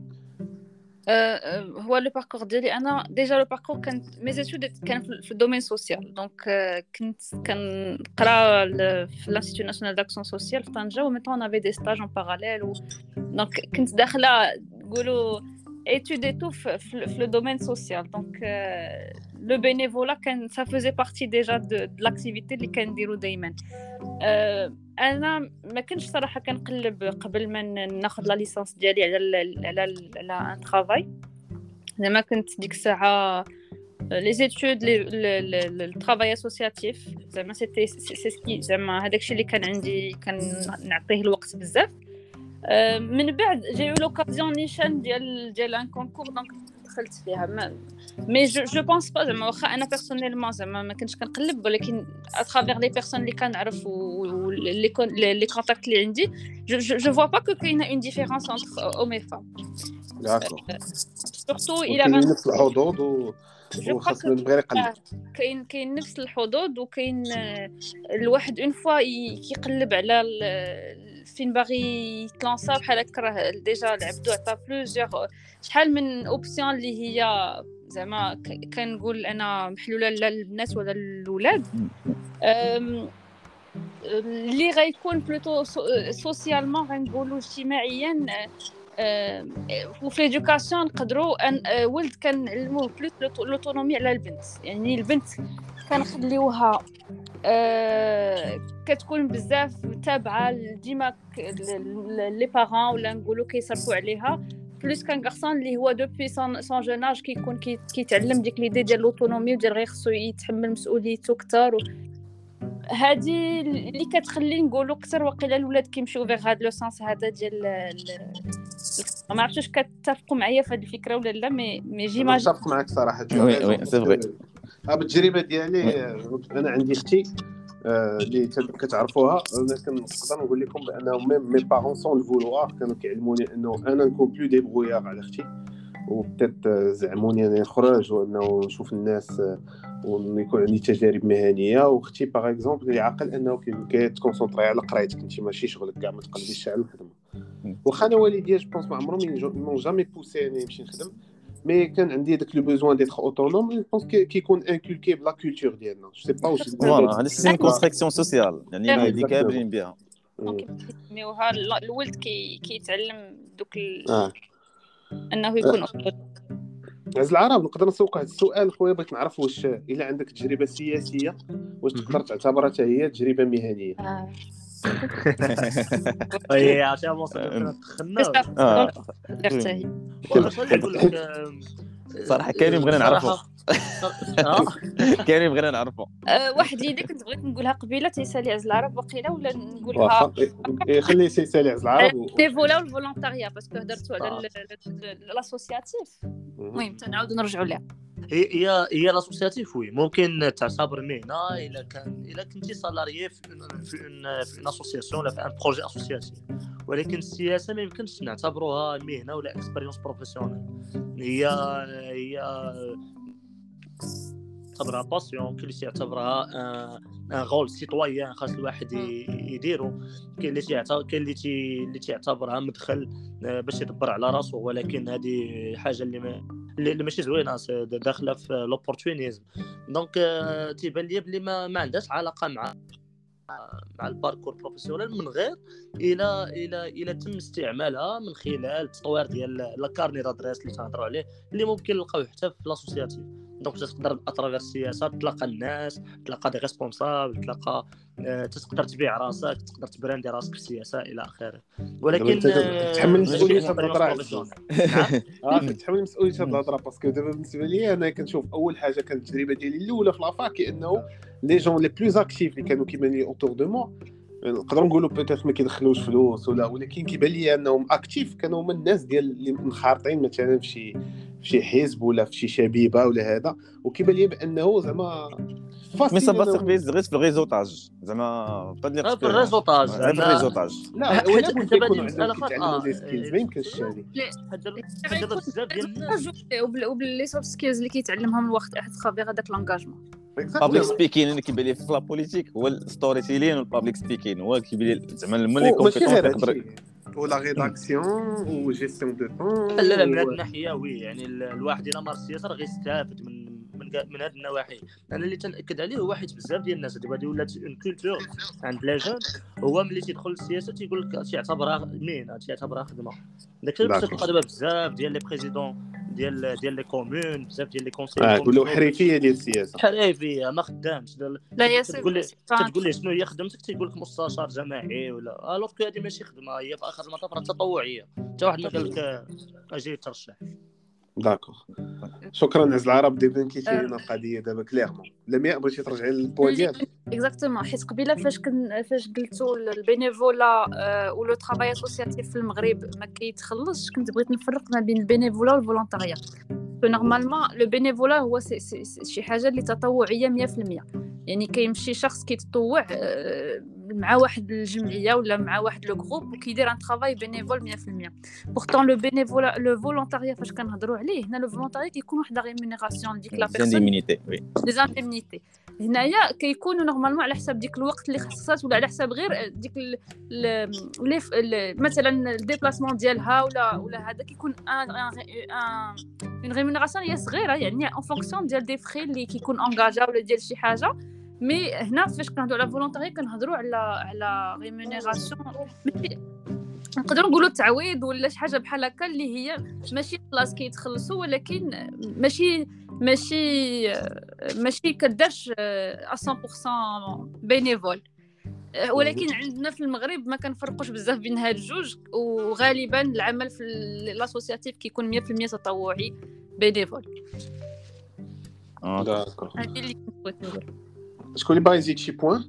هو لو باركور ديالي انا ديجا لو باركور كانت ميزيتود كان في الدومين سوسيال، دونك كنت كنقرا في لانستيتو ناسيونال داكسيون سوسيال في طنجه، وميتون افي دي ستاج اون باراليل، دونك كنت داخله نقولوا études et tout في le domaine social. Donc euh, le bénévolat كان ça faisait partie déjà de, de l'activité اللي كنديرو دائما. euh, انا ما كنتش صراحه كنقلب قبل ما ناخذ لا ليسانس ديالي على على على ان طرافاي، زعما كنت ديك الساعه لي زيتود لي الطرافاي اسوسياتيف زعما سيتي سي سكي زعما هذاك الشيء اللي كان عندي كنعطيه الوقت بزاف. من بعد جي او لوكازيون نيشان ديال ديال ان كونكور، دونك دخلت فيها. مي جو جو بونس با زعما واخا انا بيرسونيلمون زعما ما كنتش كنقلب، ولكن اترافير لي بيرسون اللي كنعرف ولي لي كونتاكت اللي عندي جو جو فوا با كو كاينه اون ديفيرونس انتر اوم اي فام. داكور سورتو الى كاين نفس الحظوظ و وخاصنا نبغي نقلب. كاين كاين نفس الحظوظ، وكاين الواحد اون فوا كيقلب على فين باغي يتلانسا بحال هكا راه ديجا العبدو عطا بلوزيغ شحال من اوبسيون اللي هي زعما كنقول انا محلوله للبنات ولا للولاد، اللي غيكون بلوتو سوسيالمون غنقولوا اجتماعيا. وفي ليدوكاسيون نقدروا ان ولد كنعلموه بلوس لوتونومي على البنت، يعني البنت كنخليوها أه كتكون بزاف تابعه ديما لي بارون ولا نقولوا كيصرفوا عليها، بلوس كان غارسون اللي هو دوبي سون سون جوناج كيكون كيتعلم ديك ليدي ديال لوتونومي وديال غير خصو يتحمل مسؤوليته اكثر. هذه اللي كتخلي نقولوا اكثر واقيلا الاولاد كيمشيو فيغ هذا لو سانس هذا ديال ما عرفتش واش كتتفقوا معايا في هذه الفكره ولا لا. مي مي جيماجين متفق معك صراحه. وي وي سي فري. بالتجربه ديالي انا عندي اختي آه، اللي تد- كتعرفوها. انا كنقدر نقول لكم بانهم ميم مي بارون سون الفولوار كانوا كيعلموني انه انا نكون بلو ديبرويار على اختي، وبدات زعموني انا نخرج وانه نشوف الناس، آه، ويكون عندي تجارب مهنيه. واختي باغ اكزومبل اللي عاقل انه كيتكونسونطري على قرايتك انت ماشي شغلك كاع، ما تقلبيش على الخدمه. واخا انا والديا جو بونس ما عمرهم مون جامي بوسي اني نمشي نخدم، مي كان عندي داك لو بوزوان ديتر اوتونوم. جو بونس كيكون انكولكي بلا كولتور ديالنا. جو سي با واش فوالا هذا سيستم كونستركسيون سوسيال يعني آه، الوالدين exactement. كاملين بها. دونك يسميوها ال- الولد كي كيتعلم دوك ال... اه انه يكون أفضل. عز العرب نقدر نسوق واحد السؤال خويا، بغيت نعرف واش الا عندك تجربه سياسيه واش تقدر تعتبرها حتى هي تجربه مهنيه؟ آه. اي عرفتي وصلنا فين دخلنا. كتعرف اه ترتاهي واش غادي نقول لك آم، صراحه كاينين بغينا نعرفوا صراحة- اه كاينين بغينا نعرفوا. آه، واحد ليدي كنت بغيت نقولها قبيله تيسالي عز العرب وقيله ولا نقولها واخا إيه، خلي سيسالي عز العرب و... ليفولا والفولونتاريا باسكو هضرتوا على لاسوسياسيف. المهم تنعاودوا نرجعوا لها. هي هي هي لاسوسياتيف وي ممكن تعتبر مهنه الا كان الا كنتي سالاريي في ان في ان في ان اسوسياسيون ولا في ان بروجي اسوسياتيف، ولكن السياسه ما يمكنش نعتبروها مهنه ولا اكسبيريونس بروفيسيونيل. هي هي تعتبرها باسيون، كاين اللي تعتبرها ان رول سيتويان خاص الواحد يديرو، كاين اللي تعتبر كاين اللي تي اللي تعتبرها مدخل باش يدبر على راسو، ولكن هذه حاجه اللي ما اللي ماشي زوينه داخله في لوبورتونيزم. دونك تيبان لي بلي ما, ما عندهاش علاقه مع مع الباركور بروفيسيونيل من غير الى الى الى تم استعمالها من خلال التطوير ديال لا كارني دادريس اللي تهضروا عليه، اللي ممكن نلقاوه حتى في لاسوسياتيف. دونك تقدر اترافير السياسه تلقى الناس، تلقى دي ريسبونسابل، تلقى أه تقدر تبيع راسك، تقدر تبراندي راسك في السياسه الى اخره. ولكن تحمل مسؤوليه هاد الهضره. نعم اه كتحمل مسؤوليه هاد الهضره باسكو دابا بالنسبه لي انا كنشوف اول حاجه كانت التجربه ديالي الاولى في لافاك انه لي جون لي بلوز اكتيف اللي كانوا كيبان لي اوتور دو مو، نقدروا نقولوا بيتيت ما كيدخلوش فلوس ولا، ولكن كيبان لي انهم اكتيف كانوا هما الناس ديال اللي منخرطين مثلا في شي في شي حزب ولا في شي شبيبه ولا هذا، وكيبان لي بانه زعما مي سافا سيرفيس غير في الريزوطاج زعما بطبيعه في الريزوطاج غير في الريزوطاج. لا ولا حتى بد دابا يكونوا مسألة عندهم كيتعلموا خاطئة. دي سكيلز ما يمكنش هذه. دابا بزاف ديال الناس وباللي سوفت سكيلز اللي كيتعلمهم الوقت احد خبير هذاك لونغاجمون. بابليك سبيكين اللي كيبان لي في لا بوليتيك هو الستوري تيلين والبابليك سبيكين هو كيبان لي زعما الملي كومبيتونس يقدر ولا ريداكسيون وجيستيون دو طون. لا لا من هذه الناحيه وي يعني الواحد الى مارس السياسه راه غيستافد من من من هذه النواحي. انا اللي تناكد عليه هو حيت بزاف ديال الناس دابا هذه ولات اون كولتور عند لي جون، هو ملي تيدخل للسياسه تيقول لك تيعتبرها مهنه تيعتبرها خدمه. داكشي باش تلقى دابا بزاف ديال لي بريزيدون ديال ديال لي كومون، بزاف ديال لي كونسيي اه كلوا حريفيه ديال السياسه، حريفيه ما خدامش. لا يا تقول لي سي تقول لي شنو هي خدمتك، تيقول لك مستشار جماعي ولا الوغ كو هذه ماشي خدمه، هي في اخر المطاف راه تطوعيه. حتى واحد ما قال لك اجي ترشح. داكور شكرا عز العرب. دابا كيتي لنا القضيه دابا كليرمون. لمياء بغيتي ترجعي للبوان ديالك؟ اكزاكتومون حيت قبيله فاش كن فاش قلتوا البينيفولا و لو ترافاي اسوسياتيف في المغرب ما كيتخلصش، كنت بغيت نفرق ما بين البينيفولا والفولونتاريا. نورمالمون لو بينيفولا هو سي سي شي حاجه اللي تطوعيه مية في المية، يعني كيمشي شخص كيتطوع مع واحد الجمعيه ولا مع واحد لو جروب وكيدير ان ترافاي بينيفول مية في المية. بورتون لو بينيفولا لو فولونتاريا فاش كنهضروا عليه هنا، لو فولونتاريا كيكون واحد لا ريمونيراسيون ديك لا بيرسون زانديمينيتي وي دي زانديمينيتي. هنايا كيكونوا نورمالمون على حساب ديك الوقت اللي خصصات ولا على حساب غير ديك ال مثلا الديبلاسمون ديالها ولا ولا هذا كيكون ان ان اون ريمونيراسيون هي صغيره يعني ان فونكسيون ديال دي فري اللي كيكون انغاجا ولا ديال شي حاجه. مي هنا فاش كنهضروا على فولونتاري كنهضروا على على ريمونيراسيون نقدروا نقولوا تعويض ولا شي حاجه بحال هكا اللي هي ماشي بلاص كيتخلصوا، ولكن ماشي ماشي ماشي كداش مية بالمية بينيفول. ولكن عندنا في المغرب ما كنفرقوش بزاف بين هاد الجوج، وغالبا العمل في الاسوسياتيف كيكون مية في المية تطوعي بينيفول. داكور هذه اللي كنت بغيت نقول. شكون اللي باغي يزيد شي بوين؟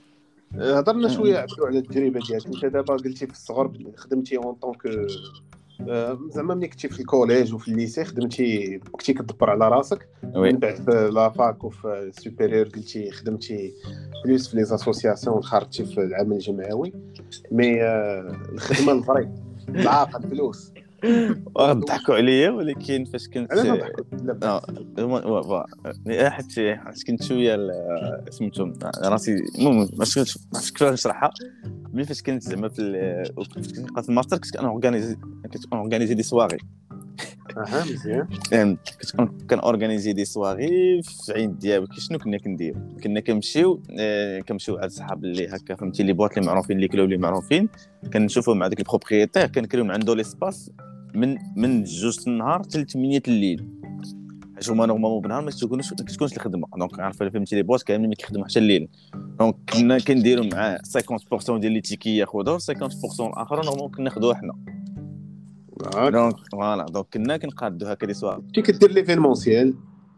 هضرنا شويه عبدو على التجربه ديالك. انت دابا قلتي في الصغر خدمتي اون طونك زعما ملي كنتي في الكوليج وفي الليسي خدمتي كنتي كتدبر على راسك، وي من بعد في لافاك وفي السوبيريور قلتي خدمتي بلوس في لي اسوسياسيون وخرجتي في العمل الجمعوي. مي الخدمه الفري العاقل الفلوس ضحكوا عليا، ولكن فاش كنت انا ما ضحكت لا اه حيت حيت كنت شويه سميتهم راسي المهم ماشي ماشي كيفاش نشرحها. ملي فاش كنت زعما في كنت كنبقى في الماستر كنت كنورغانيزي كنت كنورغانيزي دي سواغي. اها مزيان. كنت كنورغانيزي دي سواغي في عين دياب. شنو كنا كندير؟ كنا كنمشيو كنمشيو على صحاب اللي هكا فهمتي لي بواط اللي معروفين لي كلوب اللي معروفين، كنشوفوا مع داك البروبريتير كنكريو من عنده ليسباس من من جوج النهار حتى ثمانية الليل، حيت هما نورمالمون بالنهار ما تكونوش ما تكونش الخدمه. دونك عارفه فهمتي لي بواط كاملين ما كيخدموا حتى الليل. دونك كنا كنديروا معاه خمسين بالمية ديال لي تيكي ياخذوا خمسين بالمية الاخر نورمالمون كناخذوه حنا. دونك فوالا دونك كنا كنقادو هكا دي سواغ. كي كدير ليفينمونسيال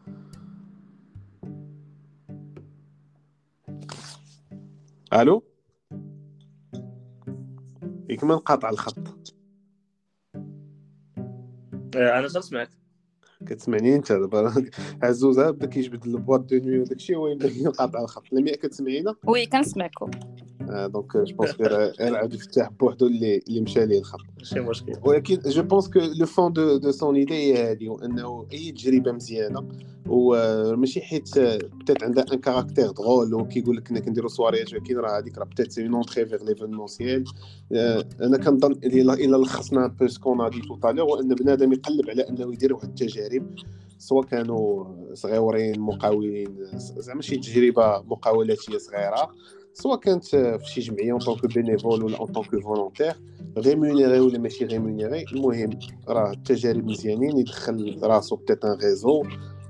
الو ياك ما نقاطع الخط. انا سمعت كتسمعني انت دابا عزوزه بدا كيجبد البواط دو نوي وداكشي هو يبدا ينقاطع الخط. لميا كتسمعينا؟ وي كنسمعكم. آه دونك جو بونس غير عاد يفتح بوحدو اللي اللي مشى ليه الخط ماشي مشكل. ولكن جو بونس كو لو فون دو دو سون ايدي هي هادي، انه اي تجربه مزيانه وماشي حيت بتات عندها ان كاركتير درول وكيقول لك كنا كنديروا سواريات، ولكن راه هذيك راه بتات سي اون اونتري فيغ ليفينمونسيال. انا كنظن الى الى لخصنا بو سكون ا دي تو طالور، وان بنادم يقلب على انه يدير واحد التجارب سواء كانوا صغيورين مقاولين زعما شي تجربه مقاولاتيه صغيره، سواء كانت في شي جمعيه اون طونك بينيفول ولا اون طونك فولونتير ريمونيري ولا ماشي ريمونيري. المهم راه التجارب مزيانين، يدخل راسو بتات ان ريزو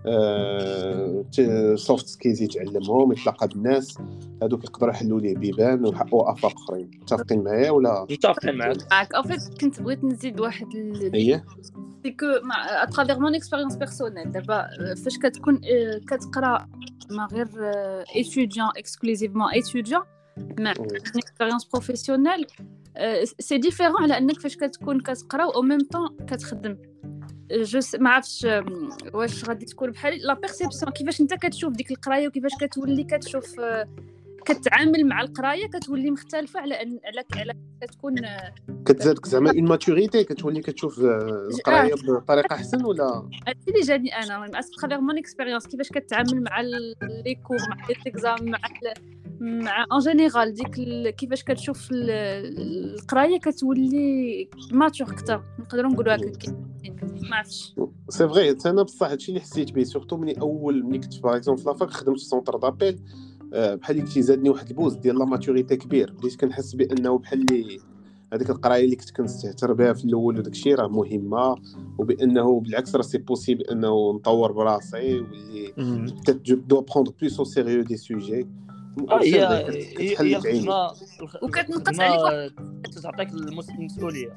سوفت سكيلز يتعلمهم، يتلاقى بالناس هذوك يقدروا يحلوا ليه بيبان وافاق اخرين. متفقين معايا ولا؟ متفقين معاك معاك. ان فيت كنت بغيت نزيد واحد هي سي كو مع اترافير مون اكسبيريونس بيرسونيل. دابا فاش كتكون كتقرا ما غير ايتوديون اكسكلوزيفمون ايتوديون مع اكسبيريونس بروفيسيونيل سي ديفيرون على انك فاش كتكون كتقرا او ميم طون كتخدم. جو ما عرفتش واش غادي تكون بحال لا بيرسيبسيون كيفاش انت كتشوف ديك القرايه وكيفاش كتولي كتشوف كتعامل مع القرايه كتولي مختلفه على ان على على كتكون كتزادك زعما اون ماتوريتي، كتولي كتشوف القرايه بطريقه احسن. ولا هادشي اللي جاني انا اترافير مون اكسبيريونس كيفاش كتعامل مع لي كور مع لي اكزام مع مع ان جينيرال ديك كيفاش كتشوف القرايه كتولي ماتور اكثر نقدروا نقولوا هكا. ما عرفتش سي فغي انا بصح هادشي اللي حسيت به سورتو ملي اول ملي كنت باغ اكزومبل في لافاك خدمت في سونتر دابيل بحال اللي زادني واحد البوز ديال لا ماتوريتي كبير، بديت كنحس بانه بحال اللي هذيك القرايه اللي كنت كنستهتر بها في الاول وداك الشيء راه مهمه، وبانه بالعكس راه سي بوسيبل انه نطور براسي واللي بتات دو بروندر بلوس او سيريو دي سوجي. هي هي الخدمه وكتنقص عليك تعطيك المسؤوليه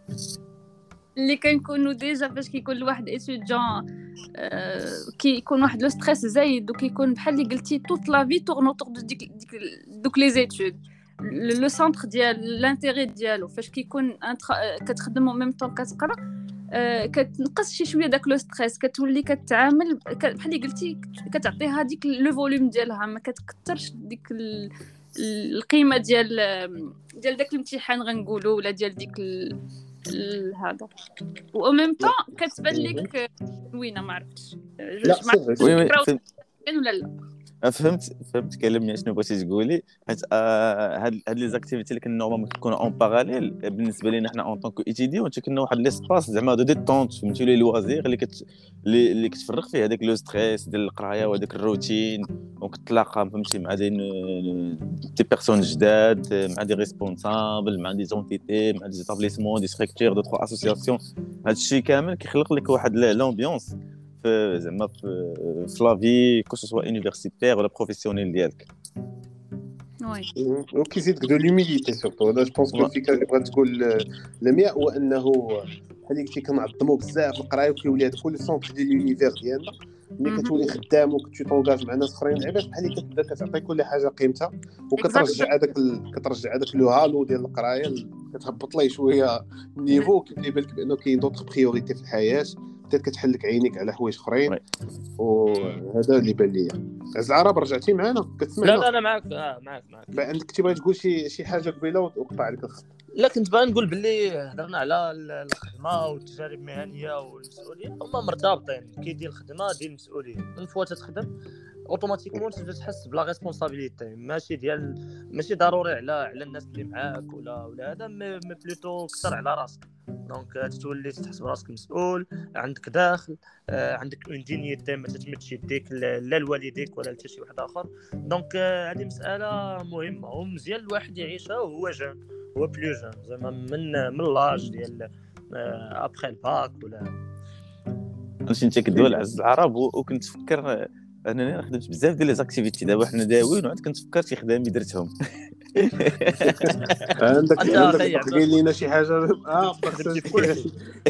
اللي كنكونوا ديجا فاش كيكون الواحد ايتوديون أه كيكون واحد لو ستريس زايد وكيكون بحال اللي قلتي توت لا في تورن اوتور دو ديك ديك دوك لي زيتود لو سونتر ديال لانتيري ديالو فاش كيكون كتخدم او ميم طون كتقرا أه كتنقص شي شويه داك لو ستريس، كتولي كتعامل بحال اللي قلتي كتعطيها ديك لو فوليوم ديالها ما كتكثرش ديك القيمه ديال ديال داك الامتحان غنقولوا ولا ديال ديك هذا و ميم طون كتبان لك زوينه. ما عرفتش لا ولا لا فهمت فهمت كلامي شنو بغيتي تقولي. حيت هاد هاد لي زاكتيفيتي اللي كنا نورمالمون كيكونوا اون باراليل بالنسبه لينا حنا اون طونك ايتيديون كنا واحد ليسباس زعما دو ديتونت فهمتي لي لوازير اللي كت اللي كتفرغ فيه هذاك لو ستريس ديال القرايه وهذاك الروتين وكتلاقى فهمتي مع دي دي بيرسون جداد مع دي ريسبونسابل مع دي زونتيتي مع دي زابليسمون دي ستركتور دو ترو اسوسياسيون. هذا الشيء كامل كيخلق لك واحد لامبيونس زعما في لافي كو سو سوا يونيفرسيتير ولا بروفيسيونيل ديالك. وي وكيزيدك دو لوميليتي سورتو. انا جو بونس كو الفكره اللي بغات تقول لميا هو انه بحال اللي كنعظموا بزاف القرايه وكيولي هذا كل سونتر ديال لونيفير ديالنا ملي كتولي خدام وكتمشي طونجاج مع ناس اخرين لعيبات بحال اللي كتبدا كتعطي كل حاجه قيمتها وكترجع هذاك ال... كترجع هذاك لو هالو ديال القرايه ال- كتهبط ليه شويه النيفو كيبان بالك بانه كاين دوطخ بريوريتي في الحياه بدات كتحل لك عينيك على حوايج اخرين وي. وهذا اللي بان ليا. عز العرب رجعتي معنا لا كتسمعنا لا انا معك آه معك معك بقى عندك تبغي تقول شي شي حاجه قبيله وقطع عليك الخط. لا كنت باغي نقول باللي هضرنا على ال- الخدمه والتجارب المهنيه والمسؤوليه هما مرتبطين. كي دير الخدمه ديال المسؤوليه من فوا تتخدم اوتوماتيكمون تبدا تحس بلا ريسبونسابيلتي ماشي ديال ماشي ضروري على على الناس اللي معاك ولا ولا هذا مي مي بلوتو كثر على راسك. دونك تتولي تحس براسك مسؤول عندك داخل آه، عندك اون دينيتي ما تتمدش يديك ل- لا لوالديك ولا لحتى شي واحد اخر. دونك آه، هذه مساله مهمه ومزيان الواحد يعيشها وهو جون هو بلو جون زعما من من لاج ديال ابخي الباك ولا ماشي انت كدوي عز العرب و- وكنت تفكر انني خدمت بزاف ديال لي زاكتيفيتي دابا حنا داويين وعاد كنت فكرت شي خدامي درتهم. عندك أنت عندك أخي تقول لينا شي حاجه اه خدمتي في كلشي.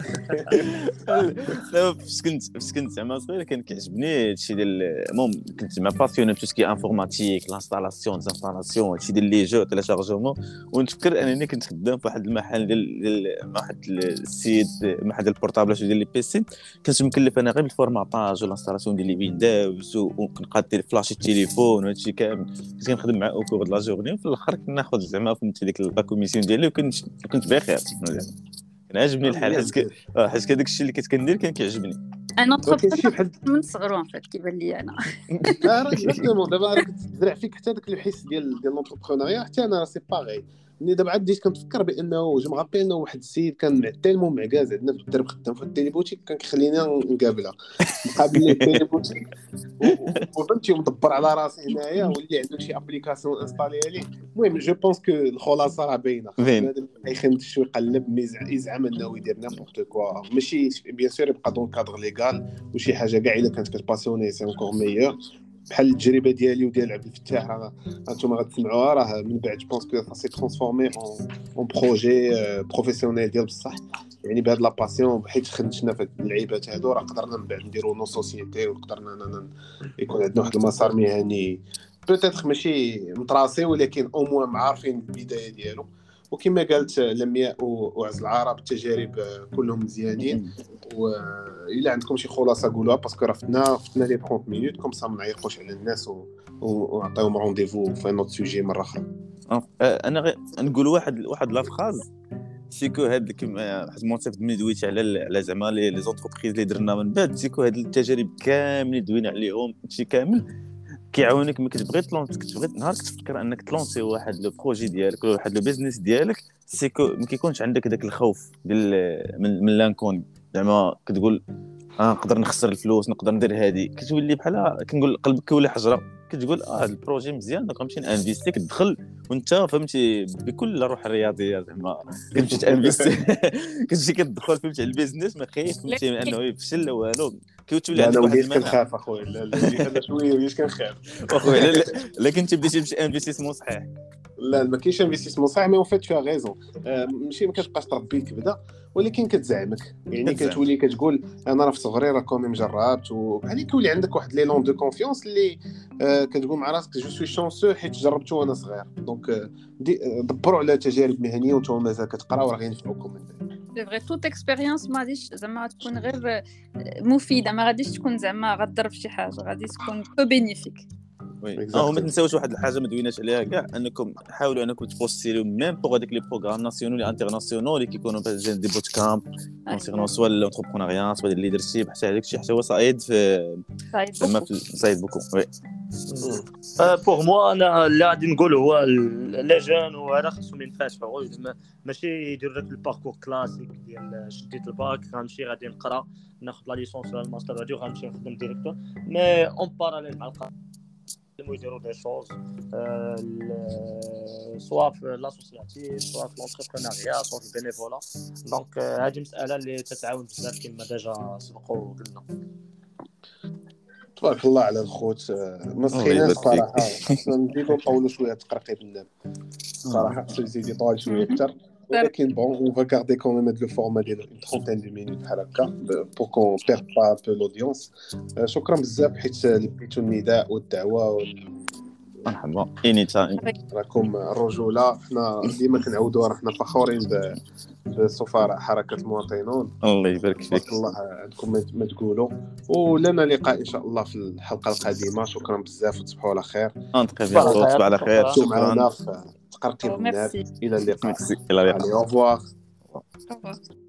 لا فاش كنت فاش كنت زعما صغير كان كيعجبني هادشي ديال المهم كنت زعما باسيوني بتو سكي انفورماتيك لانستالاسيون ديزانستالاسيون هادشي ديال لي جو تيلاشارجمون. ونتفكر انني كنت خدام في واحد المحل ديال ديال واحد السيد محل ديال البورطابلات وديال لي بيسي كنت مكلف انا غير بالفورماطاج والانستالاسيون ديال لي ويندوز وكنقاد فلاش التليفون وهادشي كامل كنت كنخدم مع او كور د لا جورني وفي الاخر كنا ناخذ زعما فهمتي ديك لا كوميسيون ديالي وكنت كنت بخير كان عاجبني الحال حيت ك- اه حيت هذاك الشيء اللي كنت كندير كان كيعجبني. انا ما كاينش شي انتربرونور بحال من صغرو ان فات كيبان لي انا. اه راه اكزاكتومون دابا راه كتزرع فيك حتى داك الحس ديال ديال لونتربرونيا حتى انا راه سي باغي. ملي دابا عاد بديت كنتفكر بانه جو مغابي انه واحد السيد كان تيلمون معكاز عندنا في الدرب خدام في التيليبوتيك كان كيخلينا نقابلها مقابل لي التيليبوتيك وفهمتي مدبر على راسي هنايا واللي عنده شي ابليكاسيون انستالي عليه. المهم جو بونس كو الخلاصه راه باينه باين. هذا يخدم شي يقلب ميزع يزعم انه يدير نيمبورت كوا ماشي بيان سور يبقى دون كادر ليغال وشي حاجه كاع الا كانت كتباسيوني سي انكور ميور. بحال التجربه ديالي وديال عبد الفتاح راه انتم غتسمعوها راه من بعد جو بونس كو سا ترانسفورمي اون اون بروجي بروفيسيونيل ديال بصح يعني بهاد لا باسيون حيت خدمتنا في اللعيبات هادو راه قدرنا من بعد نديرو نو سوسيتي وقدرنا يكون عندنا واحد المسار مهني بوتيتر ماشي متراصي ولكن او موان معارفين البدايه ديالو. وكما قالت لمياء وعز العرب التجارب كلهم مزيانين والا عندكم شي خلاصه قولوها باسكو راه فتنا فتنا لي ثلاثين مينوت كوم سا ما نعيقوش على الناس ونعطيهم رونديفو في نوت سوجي مره اخرى. انا غير نقول واحد واحد لا فراز سيكو هاد كيما حيت مونصيف ملي دويت على على زعما لي زونتربريز اللي درنا من بعد سيكو هاد التجارب كاملين دوينا عليهم هادشي كامل كيعاونك ملي كتبغي تلونس كتبغي نهار كتفكر انك تلونسي واحد لو بروجي ديالك ولا واحد لو بيزنس ديالك سيكو ما كيكونش عندك داك الخوف ديال من, من لانكون زعما كتقول اه نقدر نخسر الفلوس نقدر ندير هادي كتولي بحال كنقول قلبك كيولي حجره كتقول اه هذا البروجي مزيان دونك غنمشي انفيستي كتدخل وانت فهمتي بكل روح الرياضيه زعما كتمشي تانفيستي كتمشي كتدخل فهمتي على البيزنس ما خايف فهمتي من انه يفشل لا والو كتولي عندك واحد المناعه. المناعه. كنخاف اخويا لا لا انا شويه وليت كنخاف اخويا لا لكن انت بديتي تمشي انفيستيسمون صحيح لا ما كاينش انفيستيسمون صحيح مي اون فيت فيها غيزون ماشي ما كتبقاش تربي كبده ولكن كتزعمك يعني كتولي كتقول انا راه في صغري راه كومي مجربت وبحال كيولي عندك واحد لي لون دو كونفيونس اللي كتقول مع راسك جو سوي شانسو حيت جربته وانا صغير. دونك دبروا على تجارب مهنيه وانتم مازال كتقراو راه غينفعوكم من بعد. سي فري توت اكسبيريونس ما غاديش زعما تكون غير مفيده ما غاديش تكون زعما غضر في شي حاجه غادي تكون كو بينيفيك. وي اه وما تنساوش واحد الحاجه ما دويناش عليها كاع انكم حاولوا انكم تبوستيريو ميم بوغ هذيك لي بروغرام ناسيونال لي انترناسيونال اللي كيكونوا بحال دي بوت كامب كونسيرنون سوا لونتربرونيا سوا الليدرشيب حتى هذاك الشيء حتى هو صايد في زعما في صايد بوكو. وي بوغ موا انا اللي غادي نقول هو لي جون وهذا خصهم ينفتحوا ماشي يديروا داك الباركور كلاسيك ديال شديت الباك غنمشي غادي نقرا ناخذ لا ليسونس ولا الماستر غادي غنمشي نخدم ديريكتور مي اون باراليل مع القرايه يديروا دي شوز سواء في لاسوسياتيف سواء في لونتربرونيا سواء في البينيفولا. دونك هذه مساله اللي تتعاون بزاف كما ديجا سبقوا وقلنا. تبارك الله على الخوت ما سخيناش صراحه خصنا نزيدو نطولوا شويه تقرقيب الناب صراحه خصو يزيد يطول شويه اكثر ولكن بون اون فا غاردي كون ميم هاد لو فورما ديال اون trentaine دو مينوت بحال هكا بور كون بيرد با ان بو لودونس. شكرا بزاف حيت لبيتو النداء والدعوه. مرحبا اني تايم. راكم الرجوله، حنا ديما كنعاودوا راه حنا فخورين ب بسفراء حركه المواطنون. الله يبارك فيك. بارك الله عندكم ما تقولوا، ولنا لقاء ان شاء الله في الحلقه القادمه. شكرا بزاف وتصبحوا على خير. انت تصبح على خير. شكرا معنا في تقرقيب الناب. الى اللقاء. الى اللقاء. Allez, au revoir. Au revoir.